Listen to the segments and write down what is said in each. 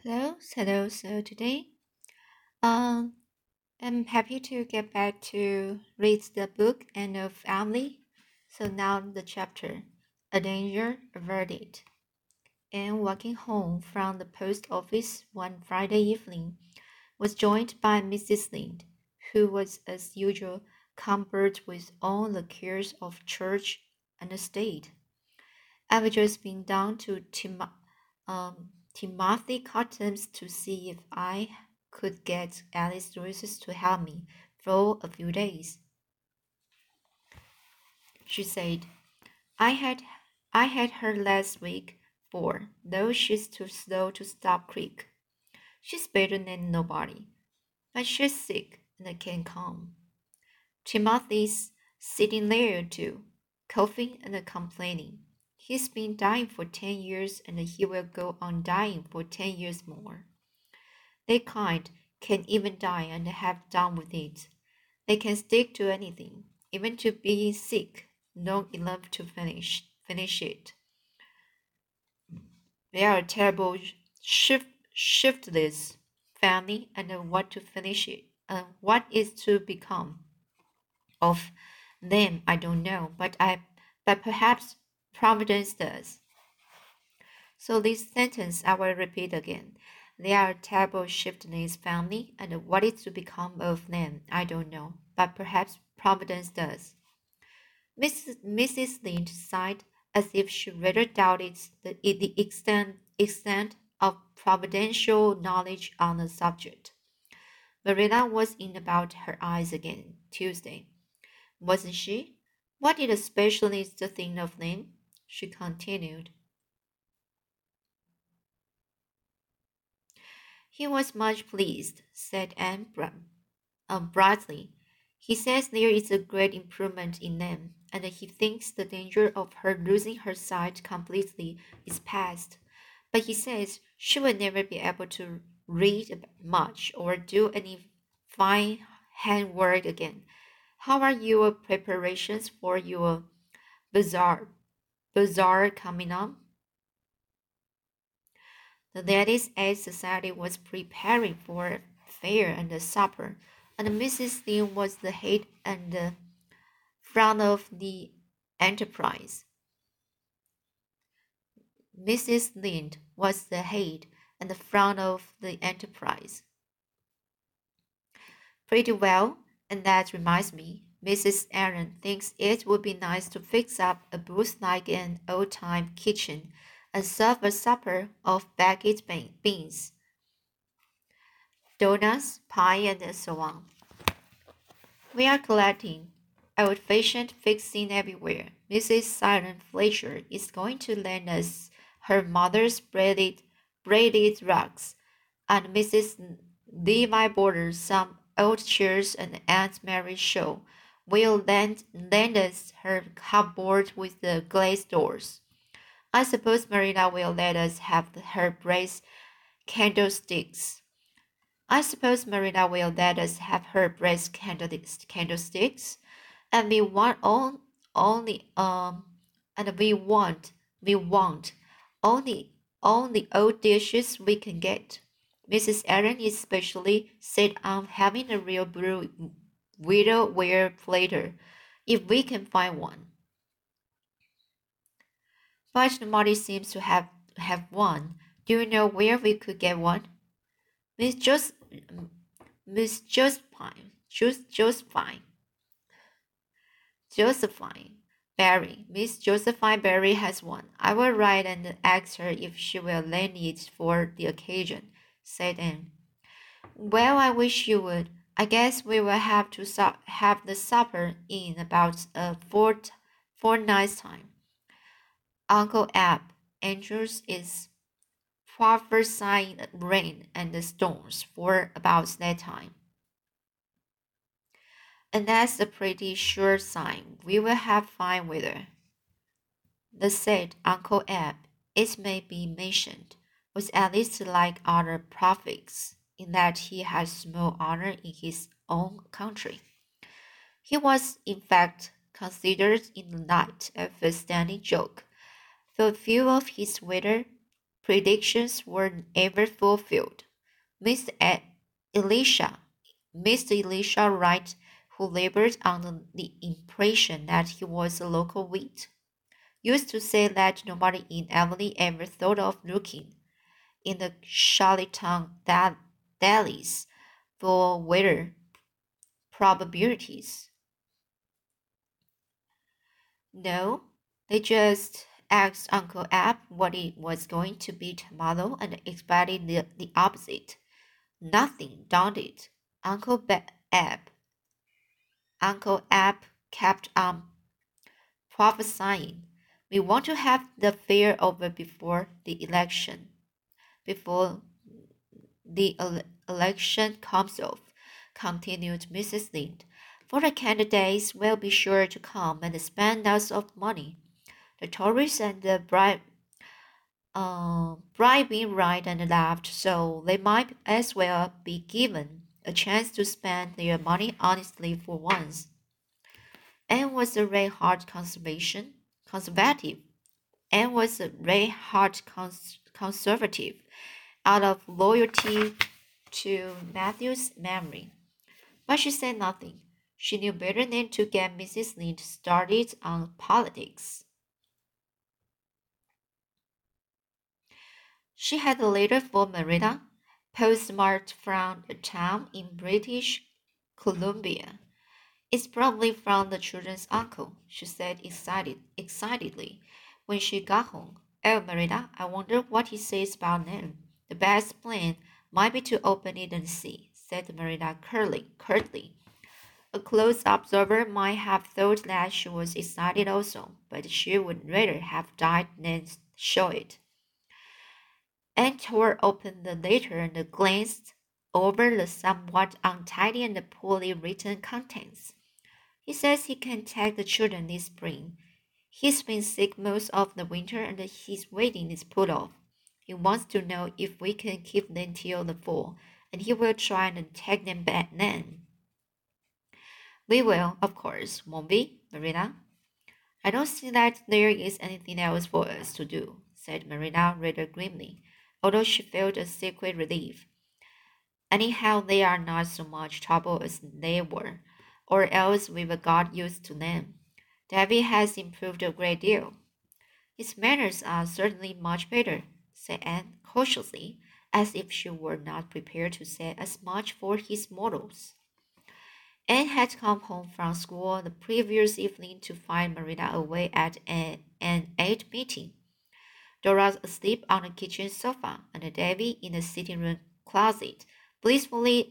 Hello. So today, um, I'm happy to get back to read the book End of Emily. So now the chapter, A Danger Averted. And walking home from the post office one Friday evening, was joined by Mrs. Lind, who was as usual cumbered with all the cares of church and the state. I've just been down to Timothy Cotton's to see if I could get Alice Joyce to help me for a few days. She said, I had I had her last week, for though she's too slow to stop quick. She's better than nobody, but she's sick and can't come. Timothy's sitting there too, coughing and complaining. He's been dying for 10 years and he will go on dying for 10 years more. They can even die and have done with it. They can stick to anything, even to being sick, long enough to finish it. They are a terrible shiftless family and what to finish it. What is to become of them I don't know, but perhaps Providence does. So this sentence I will repeat again. They are a terrible shiftless family, and what is to become of them I don't know, but perhaps Providence does. Mrs. Lynde sighed as if she rather doubted the extent of providential knowledge on the subject. Marilla was in about her eyes again Tuesday, wasn't she? What did the specialist think of them? She continued. He was much pleased, said Anne brightly. He says there is a great improvement in them, and he thinks the danger of her losing her sight completely is past. But he says she will never be able to read much or do any fine handwork again. How are your preparations for your bazaar bazaar coming up? The Ladies' Aid Society was preparing for a fair and a supper, and Mrs. Lin was the head and the front of the enterprise. Mrs. Lind was the head and the front of the enterprise. Pretty well, and that reminds me, Mrs. Aaron thinks it would be nice to fix up a booth like an old-time kitchen and serve a supper of baked beans, donuts, pie, and so on. We are collecting old-fashioned fixing everywhere. Mrs. Siren Fletcher is going to lend us her mother's braided rugs, and Mrs. Levi Borders some old chairs, and Aunt Mary Shaw will lend us her cupboard with the glazed doors. I suppose Marina will let us have her brass candlesticks. I suppose Marina will let us have her brass candlesticks, and only and we want only old dishes we can get. Mrs. Aaron especially said I'm having a real blue widowware platter, if we can find one. But nobody seems to have one. Do you know where we could get one? Miss Jos Miss Josephine Barry. Miss Josephine Barry has one. I will write and ask her if she will lend it for the occasion, said Anne. Well, I wish you would. I guess we will have to have the supper in about a fortnight's time. Uncle Ab Andrews is prophesying rain and storms for about that time. And that's a pretty sure sign we will have fine weather. The said Uncle Ab, it may be mentioned, was at least like other prophets, in that he had small honor in his own country. He was, in fact, considered in the light of a standing joke, though few of his predictions were ever fulfilled. Mr. Elisha, Mr. Elisha Wright, who labored under the impression that he was a local wit, used to say that nobody in Emily ever thought of looking in the Charlottetown delis for weather probabilities. No, they just asked Uncle Ab what it was going to be tomorrow and expected the opposite. Nothing daunted. Ab, Uncle Ab kept on prophesying. We want to have the fair over before the election comes off, continued Mrs. Lynde. For the candidates will be sure to come and spend lots of money. The Tories and the bribing right and left, so they might as well be given a chance to spend their money honestly for once. Anne was a red hot conservative. Anne was a red hot conservative out of loyalty to Matthew's memory. But she said nothing. She knew better than to get Mrs. Lynde started on politics. She had a letter for Marilla, postmarked from a town in British Columbia. It's probably from the children's uncle, she said excitedly when she got home. Oh, Marilla, I wonder what he says about them. The best plan might be to open it and see, said Marilla curtly. A close observer might have thought that she was excited also, but she would rather have died than show it. Anne tore open the letter and glanced over the somewhat untidy and poorly written contents. He says he can take the children this spring. He's been sick most of the winter and his wedding is put off. He wants to know if we can keep them till the fall, and he will try and take them back then. We will, of course, won't we, Marina? I don't see that there is anything else for us to do, said Marina rather grimly, although she felt a secret relief. Anyhow, they are not so much trouble as they were, or else we've got used to them. Davy has improved a great deal. His manners are certainly much better, said Anne cautiously, as if she were not prepared to say as much for his morals. Anne had come home from school the previous evening to find Marina away at an aid meeting. Dora asleep on the kitchen sofa, and Davy in the sitting room closet, blissfully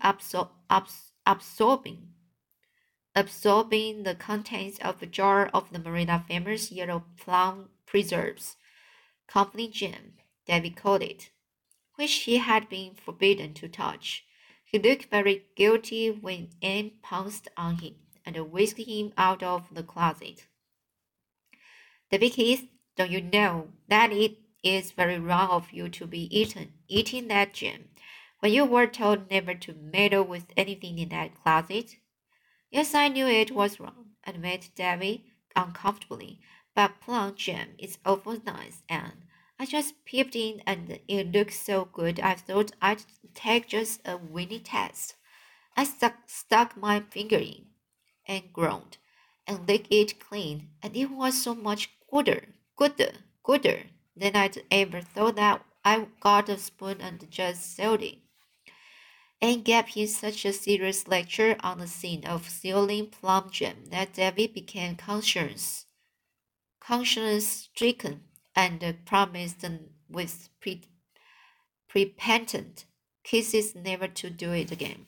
absorbing the contents of a jar of the Marina famous yellow plum preserves, company jam, Davy called it, which he had been forbidden to touch. He looked very guilty when Anne pounced on him and whisked him out of the closet. Davy Keith, don't you know that it is very wrong of you to be eating that jam, when you were told never to meddle with anything in that closet? Yes, I knew it was wrong, admitted Davy uncomfortably, but plum jam is awful nice, and I just peeped in and it looked so good I thought I'd take just a winning test. I stuck my finger in and groaned and licked it clean, and it was so much gooder than I'd ever thought that I got a spoon and just sealed it. And gave him such a serious lecture on the sin of stealing plum jam that Davy became conscience stricken and promised with repentant kisses never to do it again.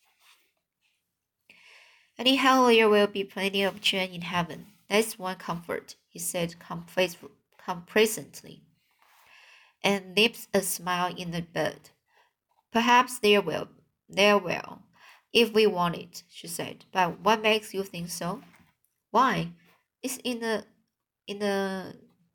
Anyhow, there will be plenty of jam in heaven. That's one comfort, he said complacently, and nipped a smile in the bud. Perhaps there will, if we want it, she said. But what makes you think so? Why? It's in the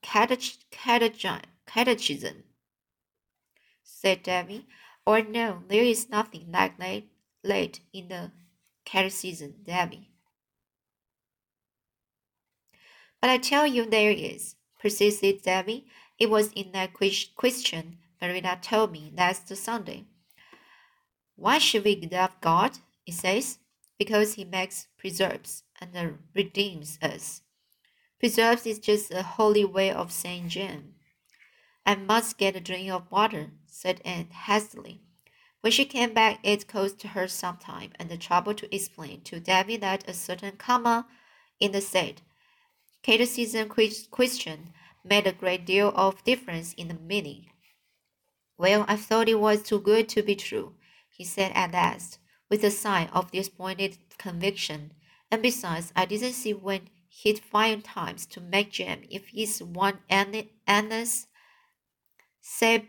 catechism, said Davy. Or no, there is nothing like late in the catechism, Davy. But I tell you there is, persisted Davy, It was in that question Marina told me last Sunday. Why should we love God? It says, because He makes preserves and redeems us. Preserves is just a holy way of saying Jane. I must get a drink of water, said Anne hastily. When she came back, it cost her some time and the trouble to explain to Davy that a certain comma in the said criticism question made a great deal of difference in the meaning. Well, I thought it was too good to be true, he said at last, with a sigh of disappointed conviction. And besides, I didn't see when he'd find times to make jam if he's one Anna's Sab-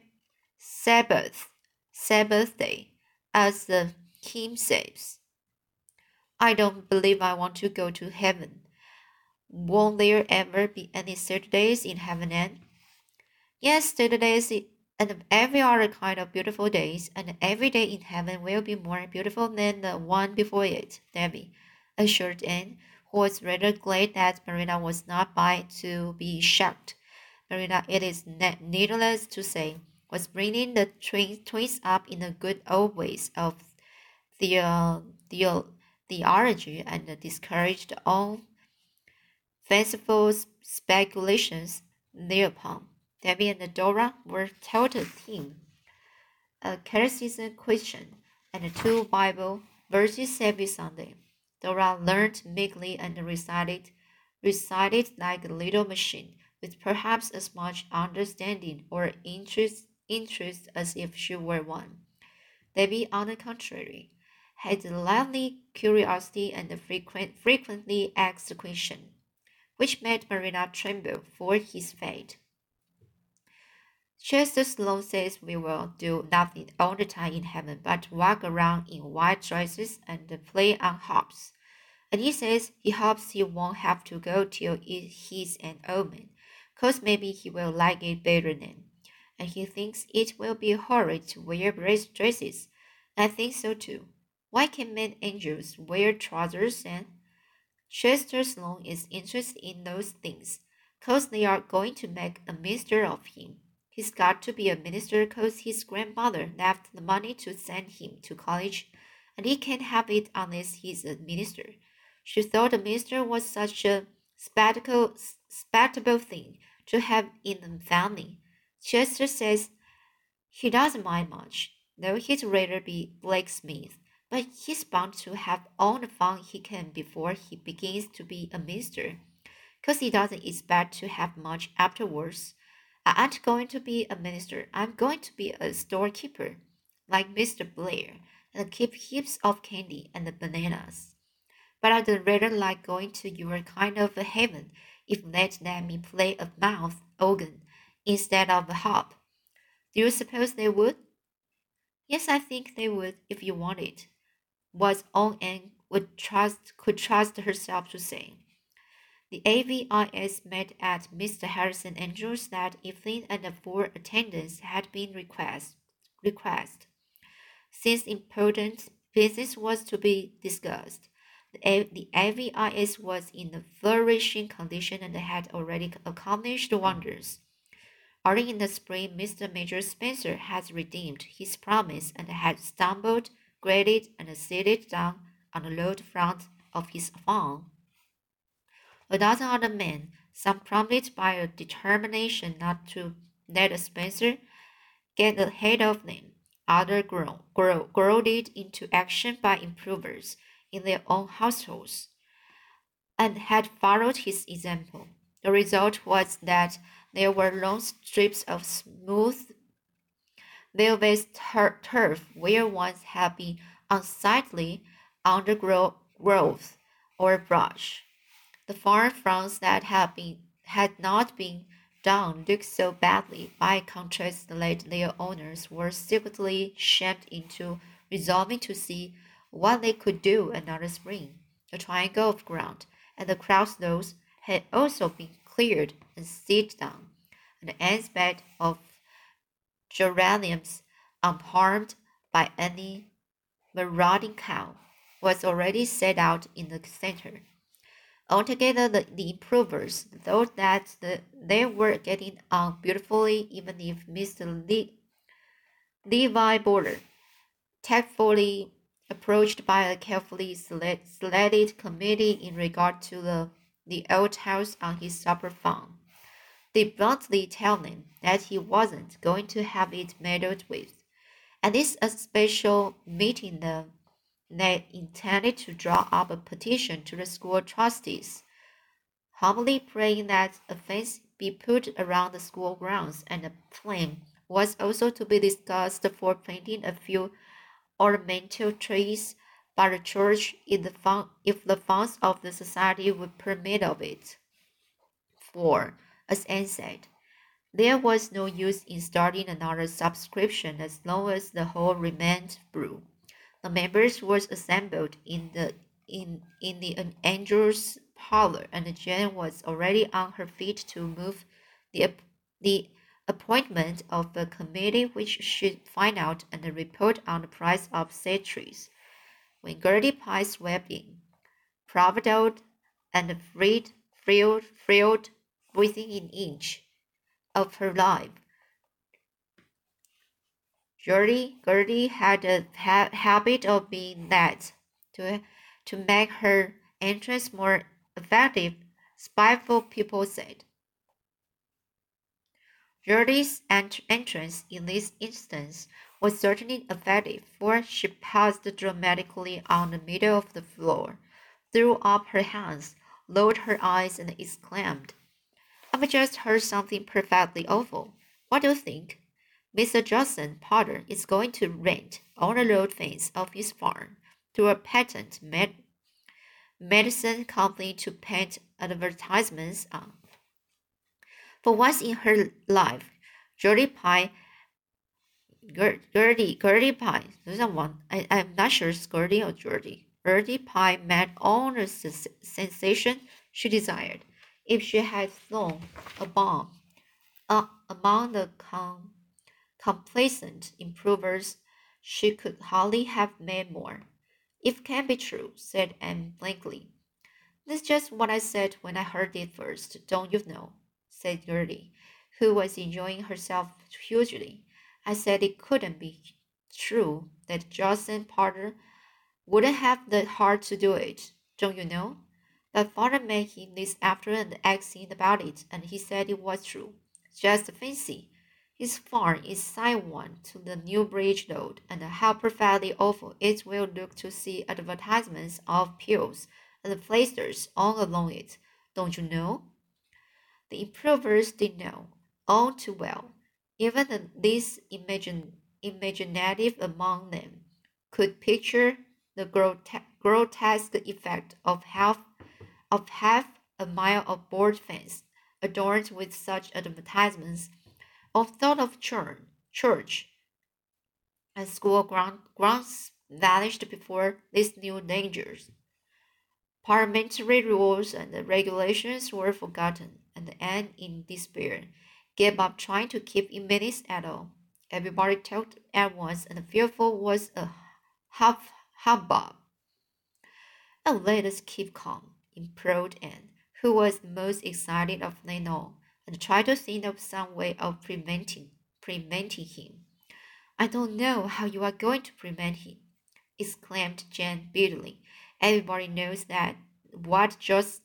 Sabbath day, as the hymn says. I don't believe I want to go to heaven. Won't there ever be any Saturdays in heaven, Anne? Yes, Saturdays and every other kind of beautiful days, and every day in heaven will be more beautiful than the one before it, Debbie assured Anne, who was rather glad that Marina was not by to be shocked. Marina, it is needless to say, was bringing the twins up in the good old ways of the, the, theology and discouraged all fanciful speculations thereupon. Debbie and Dora were taught a theme, a catechism question, and two Bible verses every Sunday. Dora learned meekly and recited like a little machine, with perhaps as much understanding or interest as if she were one. Debbie, on the contrary, had a lively curiosity and frequently asked a question, which made Marina tremble for his fate. Chester Sloane says we will do nothing all the time in heaven but walk around in white dresses and play on harps. And he says he hopes he won't have to go till he's an old man, 'cause maybe he will like it better then. And he thinks it will be horrid to wear dresses. I think so too. Why can't men angels wear trousers and Chester Sloane is interested in those things, 'cause they are going to make a minister of him. He's got to be a minister 'cause his grandmother left the money to send him to college, and he can't have it unless he's a minister. She thought a minister was such a spectacle thing to have in the family. Chester says he doesn't mind much, though he'd rather be blacksmith, but he's bound to have all the fun he can before he begins to be a minister, 'cause he doesn't expect to have much afterwards. I ain't going to be a minister. I'm going to be a storekeeper, like Mr. Blair, and keep heaps of candy and bananas. But I'd rather like going to your kind of a heaven if they'd let me play a mouth organ instead of a harp. Do you suppose they would? Yes, I think they would if you wanted, was all Anne could trust herself to say. The AVIS met at Mr. Harrison Andrews that evening and the full attendance had been requested. Since important business was to be discussed, the AVIS was in a flourishing condition and had already accomplished wonders. Early in the spring, Mr. Major Spencer had redeemed his promise and had stumbled, graded, and seated down on the load front of his farm. A dozen other men, some prompted by a determination not to let Spencer get ahead of them, others goaded into action by improvers in their own households, and had followed his example. The result was that there were long strips of smooth velvet turf where once had been unsightly undergrowth or brush. The farm fronts that had not been done looked so badly by contrast that their owners were secretly shamed into resolving to see what they could do another spring. The triangle of ground and the crossroads had also been cleared and seeded down, and the end's bed of geraniums, unharmed by any marauding cow, was already set out in the center. Altogether, the improvers thought that they were getting on beautifully, even if Mr. Levi Border, tactfully approached by a carefully selected committee in regard to the old house on his supper farm, did bluntly tell him that he wasn't going to have it meddled with. And this a special meeting they intended to draw up a petition to the school trustees, humbly praying that a fence be put around the school grounds, and a plan was also to be discussed for planting a few ornamental trees by the church if the funds of the society would permit of it. For, as Anne said, there was no use in starting another subscription as long as the hall remained blue. The members was assembled in the Angel's parlor, and Jane was already on her feet to move the appointment of a committee which should find out and report on the price of said trees. When Gertie Pye swept in, proud and thrilled within an inch of her life, Gertie had a habit of being that to make her entrance more effective, spiteful people said. Gertie's entrance in this instance was certainly effective, for she paused dramatically on the middle of the floor, threw up her hands, lowered her eyes, and exclaimed, "I've just heard something perfectly awful. What do you think? Mr. Judson Potter is going to rent all the road fence of his farm to a patent medicine company to paint advertisements on." For once in her life, Gertie Pye, Gertie Pye, there's someone, I'm not sure it's Gertie or Gertie. Gertie Pye met all the sensation she desired. If she had thrown a bomb among the complacent improvers, she could hardly have made more. "It can't be true," said Anne blankly. "That's just what I said when I heard it first, don't you know?" said Gertie, who was enjoying herself hugely. "I said it couldn't be true that Judson Potter wouldn't have the heart to do it, don't you know? But father made him this afternoon asking about it, and he said it was true. Just fancy. His farm is side one to the New Bridge Road, and how perfectly awful it will look to see advertisements of pills and plasters all along it, don't you know?" The improvers did know, all too well. Even the least imaginative among them could picture the grotesque effect of half a mile of board fence adorned with such advertisements, or thought of church and school grounds vanished before these new dangers. Parliamentary rules and regulations were forgotten, and Anne, in despair, gave up trying to keep in minutes at all. Everybody talked at once, and fearful was a hubbub. "Oh, let us keep calm," implored Anne, who was the most excited of them all, "and try to think of some way of preventing him." "I don't know how you are going to prevent him," exclaimed Jane bitterly. "Everybody knows that what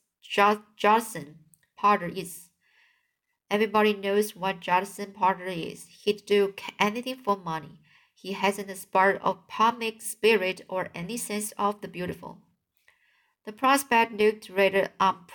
Judson Potter is. Everybody knows what Judson Potter is. He'd do anything for money. He hasn't a spark of comic spirit or any sense of the beautiful." The prospect looked rather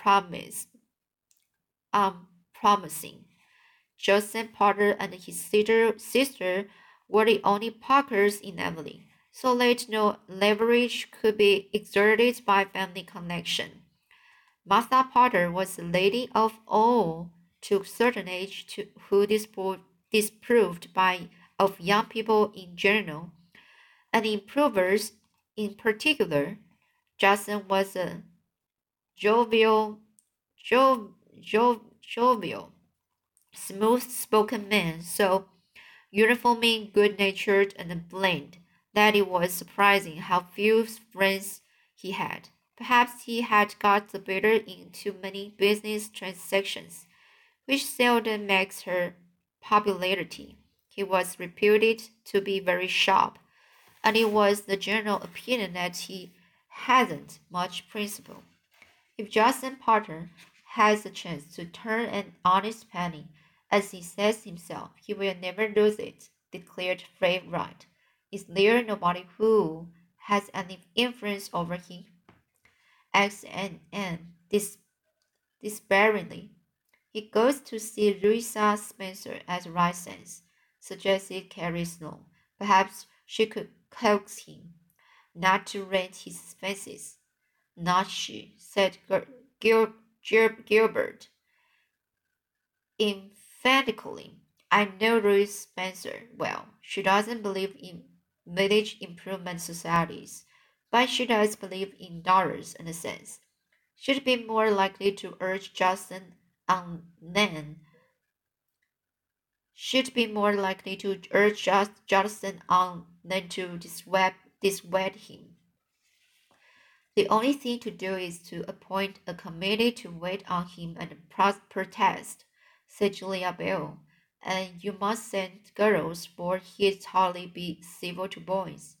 unpromising. Judson Potter and his sister were the only Parkers in Emily, so that no leverage could be exerted by family connection. Martha Potter was a lady of all to a certain age who disapproved of young people in general, and improvers in particular. Judson was a jovial, jovial, smooth-spoken man, so uniformly good-natured and bland that it was surprising how few friends he had. Perhaps he had got the better in too many business transactions, which seldom makes her popularity. He was reputed to be very sharp, and it was the general opinion that he hadn't much principle. If Justin Potter has a chance to turn an honest penny, as he says himself, he will never lose it, declared Fred Wright. Is there nobody who has any influence over him? Asked Anne despairingly. He goes to see Louisa Spencer at Rice Sands, suggested Carrie Sloane. Perhaps she could coax him not to rent his fences. Not she, said Gilbert emphatically. I know Louise Spencer well. She doesn't believe in village improvement societies, but she does believe in dollars and cents. She'd be more likely to urge Justin on than should be more likely to urge Justin on than to dissuade him. The only thing to do is to appoint a committee to wait on him and protest, said Julia Bell. And you must send girls, for he'd hardly be civil to boys.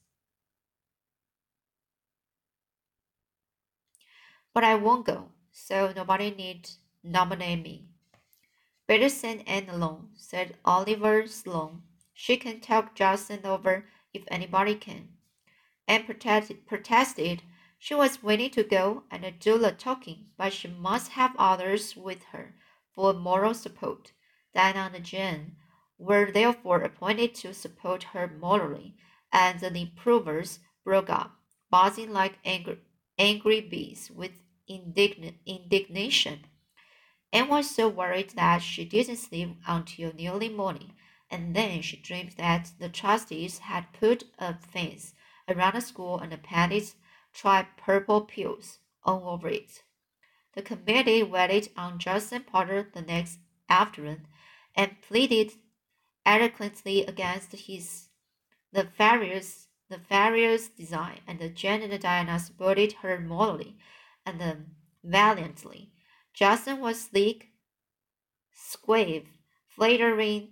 But I won't go, so nobody need nominate me. Better send Anne alone, said Oliver Sloane. She can talk Justin over if anybody can. Anne protested she was willing to go and do the talking, but she must have others with her for moral support. Diana and Jane were therefore appointed to support her morally, and the improvers broke up, buzzing like angry bees with indignation. Anne was so worried that she didn't sleep until nearly morning, and then she dreamed that the trustees had put a fence around the school and painted striped purple pills all over it. The committee waited on Justin Potter the next afternoon and pleaded eloquently against his the various design, and Jane and Diana supported her morally and valiantly. Justin was sleek, suave, flattering,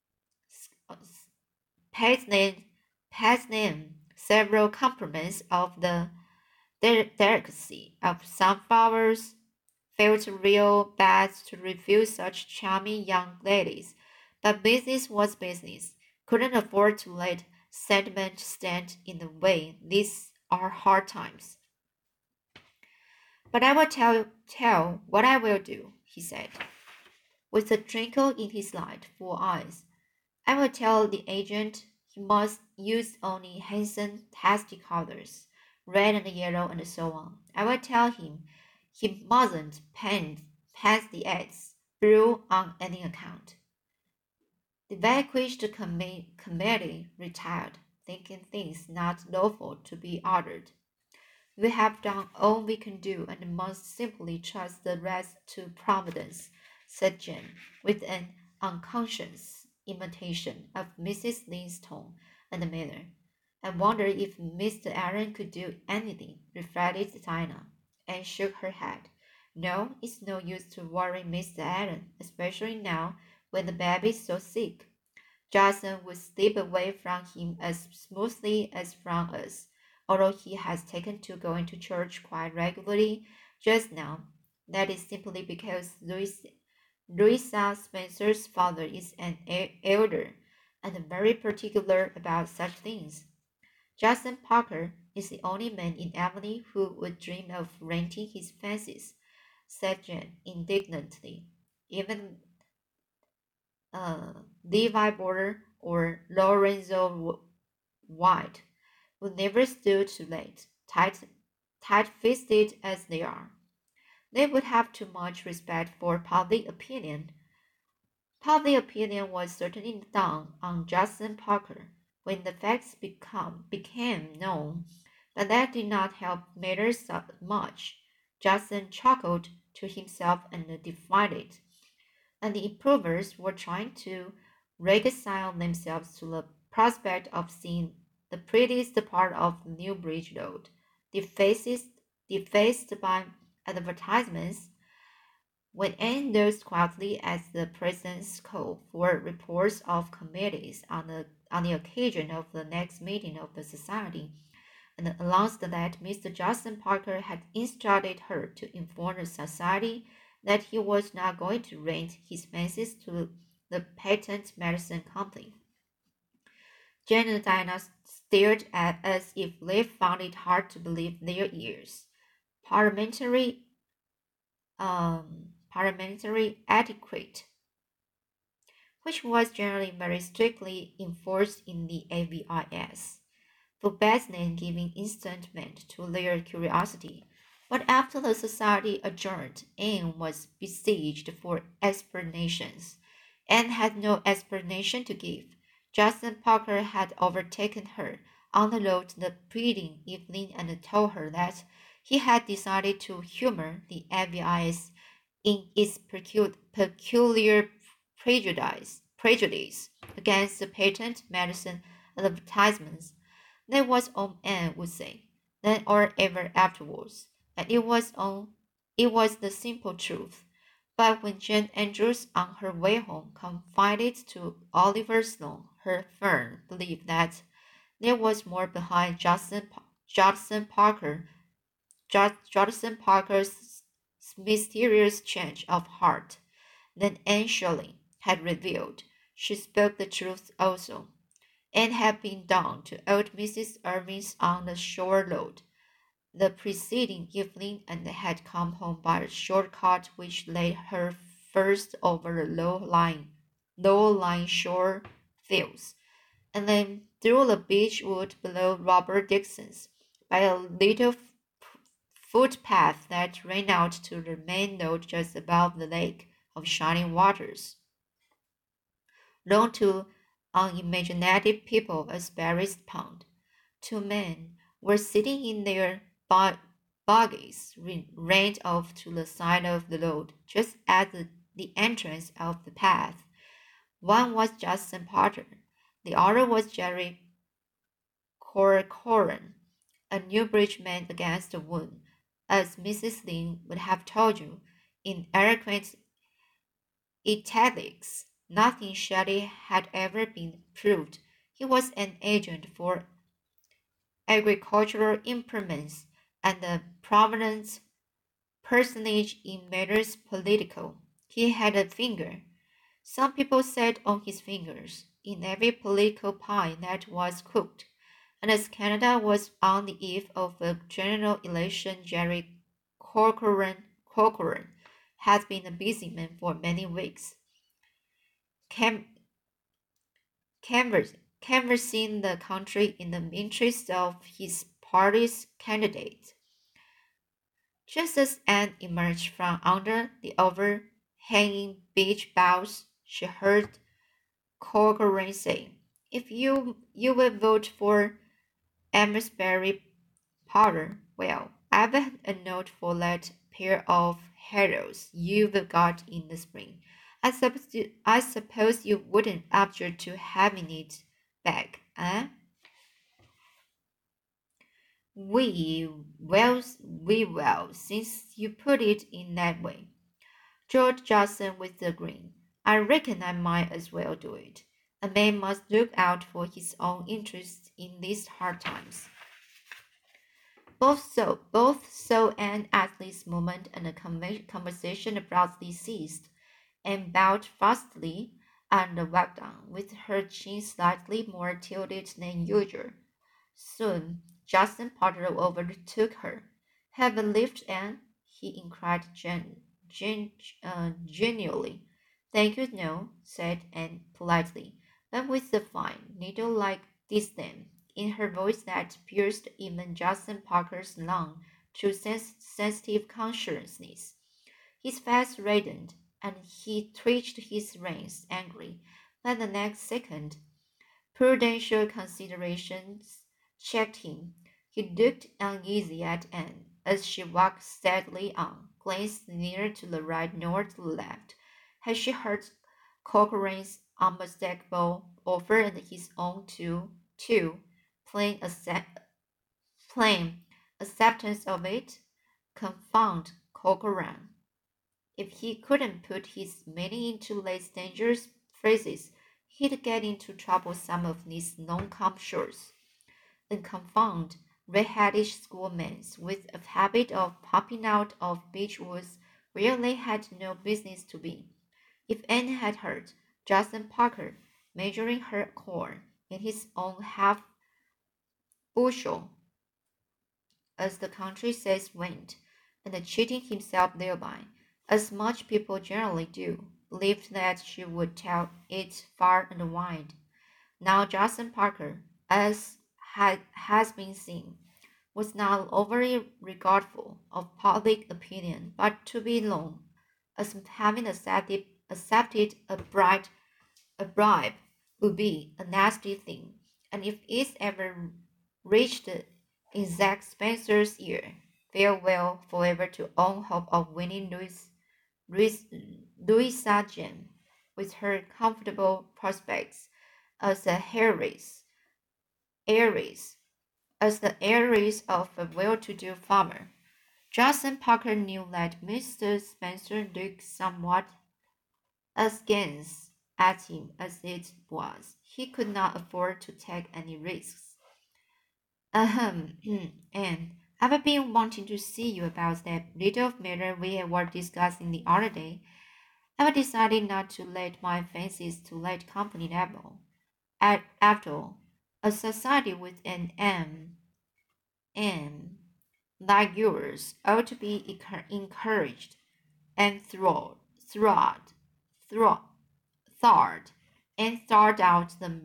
paying several compliments of the delicacy of sunflowers. Felt real bad to refuse such charming young ladies, but business was business. Couldn't afford to let sentiment stand in the way. These are hard times. But I will tell what I will do, he said, with a twinkle in his light, full eyes. I will tell the agent he must use only handsome, tasty colors, red and yellow and so on. I will tell him he mustn't paint the eggs blue on any account. The vanquished committee retired, thinking things not lawful to be ordered. We have done all we can do and must simply trust the rest to Providence, said Jane, with an unconscious imitation of Mrs. Lin's tone and manner. I wonder if Mr. Aaron could do anything, reflected Dinah, and shook her head. No, it's no use to worry Mr. Aaron, especially now when the baby's so sick. Jason would slip away from him as smoothly as from us, although he has taken to going to church quite regularly just now. That is simply because Louisa Spencer's father is an elder and very particular about such things. Jason Parker is the only man in Emily who would dream of renting his fences, said Jane indignantly. Even Levi Border or Lorenzo White would never stood too late, tight-fisted as they are. They would have too much respect for public opinion. Public opinion was certainly down on Justin Parker when the facts became known, but that did not help matters much. Justin chuckled to himself and defied it, and the improvers were trying to reconcile themselves to the prospect of seeing the prettiest part of Newbridge Road. Their faces defaced by advertisements, when Anne looked quietly at the president's call for reports of committees on the occasion of the next meeting of the society, and announced that Mr. Justin Parker had instructed her to inform the society that he was not going to rent his fences to the patent medicine company. Jane and Diana stared at as if they found it hard to believe their ears. Parliamentary parliamentary etiquette, which was generally very strictly enforced in the AVIS, forbade them giving instant vent to their curiosity. But after the society adjourned, Anne was besieged for explanations, and had no explanation to give. Justin Parker had overtaken her on the road the preceding evening and told her that he had decided to humor the AVIS in its peculiar prejudice against the patent medicine advertisements. That was all Anne would say, then or ever afterwards, and it was the simple truth. But when Jane Andrews on her way home confided to Oliver Sloane her firm belief that there was more behind Judson Parker's mysterious change of heart than Anne Shirley had revealed, she spoke the truth also, and had been down to old Mrs. Irving's on the shore road the preceding evening and had come home by a short cut which led her first over the low-lying shore fields, and then through the beech wood below Robert Dixon's by a little footpath that ran out to the main road just above the lake of shining waters, known to unimaginative people as Barry's Pond. Two men were sitting in their buggies, reined off to the side of the road, just at the entrance of the path. One was Justin Potter, the other was Jerry Corcoran, a Newbridge man against the wound, as Mrs. Lynde would have told you, in eloquent italics. Nothing Shelley had ever been proved. He was an agent for agricultural implements and a prominent personage in matters political. He had a finger. Some people sat on his fingers in every political pie that was cooked, and as Canada was on the eve of a general election, Jerry Corcoran had been a busy man for many weeks, cam- canvassing the country in the interest of his party's candidate. Just as Anne emerged from under the overhanging beech boughs, she heard Corcoran say, "If you will vote for Amesbury Potter, well, I've a note for that pair of heroes you've got in the spring. I suppose you wouldn't object to having it back, eh?" We will, since you put it in that way. George Johnson with a grin. "I reckon I might as well do it. A man must look out for his own interests in these hard times." Both saw Anne at this moment, and the conversation abruptly ceased, and bowed fastly and walked on, with her chin slightly more tilted than usual. Soon Justin Potter overtook her. "Have a lift, Anne?" he inquired genially. "Thank you, no," said Anne politely, but with a fine, needle-like disdain in her voice that pierced even Justin Parker's long, true sensitive consciousness. His face reddened, and he twitched his reins angrily, but the next second prudential considerations checked him. He looked uneasy at Anne as she walked steadily on, glanced neither to the right nor to the left. Had she heard Corcoran's unmistakable offer and his own too plain acceptance of it? Confound Corcoran. If he couldn't put his meaning into less dangerous phrases, he'd get into trouble some of these non-com shores. And confound red-headish schoolmen with a habit of popping out of beech woods where they had no business to be. If Anne had heard Justin Parker measuring her corn in his own half bushel, as the country says went, and cheating himself thereby, as much people generally do, believed that she would tell it far and wide. Now Justin Parker, as has been seen, was not overly regardful of public opinion, but to be known as having accepted a bribe would be a nasty thing, and if it ever reached Isaac Spencer's ear, farewell forever to all hope of winning Louis, Louisa Jane with her comfortable prospects as a heiress, as the heiress of a well-to-do farmer. Justin Parker knew that Mr. Spencer looked somewhat askance at him as it was. He could not afford to take any risks. Ahem, and I've been wanting to see you about that little matter we were discussing the other day. I've decided not to let my fancies to let company level. After all, a society with an M like yours ought to be encouraged and throd, thawed, and thawed out the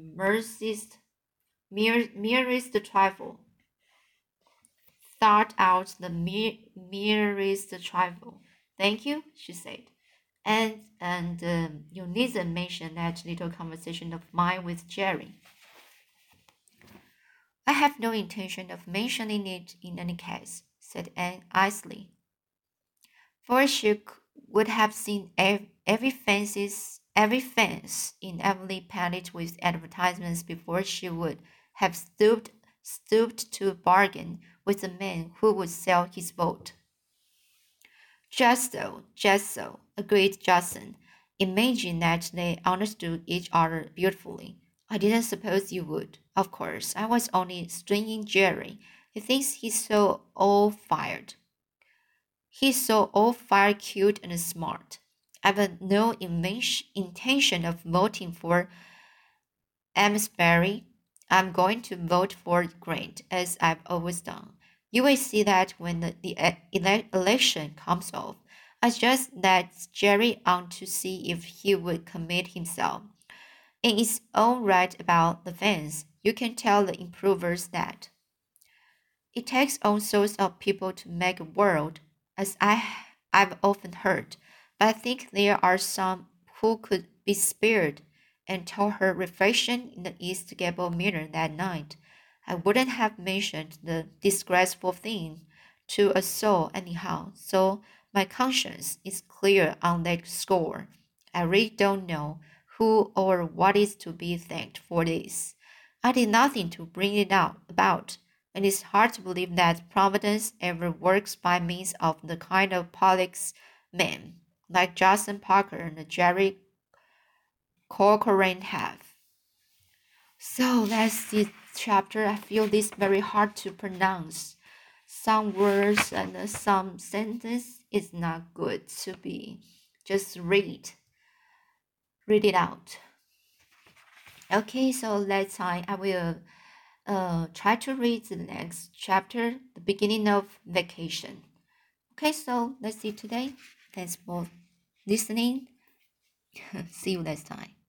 merest trifle. Thought out the merest trifle. Thank you, she said. And you needn't mention that little conversation of mine with Jerry. I have no intention of mentioning it in any case, said Anne icily, for she would have seen every fence in Emily painted with advertisements before she would have stooped to bargain with the man who would sell his vote. Just so, agreed Johnson. Imagine that they understood each other beautifully. I didn't suppose you would. Of course, I was only stringing Jerry. He thinks he's so all fired. He's so all fired cute and smart. I've no intention of voting for Amesbury. I'm going to vote for Grant, as I've always done. You will see that when the election comes off. I just let Jerry on to see if he would commit himself. And it's all right about the fans. You can tell the improvers that. It takes all sorts of people to make a world, as I've often heard, but I think there are some who could be spared, and told her reflection in the East Gable mirror that night. I wouldn't have mentioned the disgraceful thing to a soul anyhow, so my conscience is clear on that score. I really don't know who or what is to be thanked for this. I did nothing to bring it about, and it's hard to believe that Providence ever works by means of the kind of prolix men like Justin Parker and Jerry Corcoran have. So that's the chapter. I feel this very hard to pronounce. Some words and some sentence is not good to be just read it out. Okay, so let's time I will try to read the next chapter, the beginning of vacation. Okay, so let's see today. Thanks for listening. See you next time.